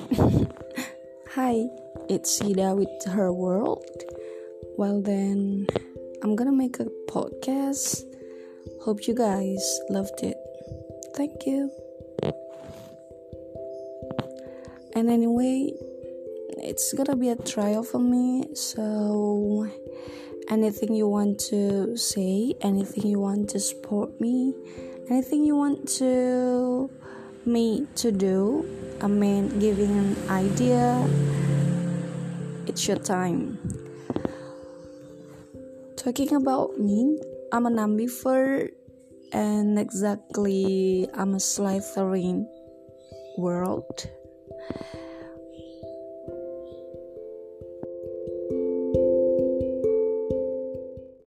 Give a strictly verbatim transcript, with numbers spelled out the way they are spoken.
Hi, it's Sida with her world. Well, then, I'm gonna make a podcast. Hope you guys loved it. Thank you. And anyway, it's gonna be a trial for me. So, anything you want to say, anything you want to support me, anything you want to me to do, I mean, giving an idea, it's your time. Talking about me, I'm an ambivert, and exactly, I'm a Slytherin world.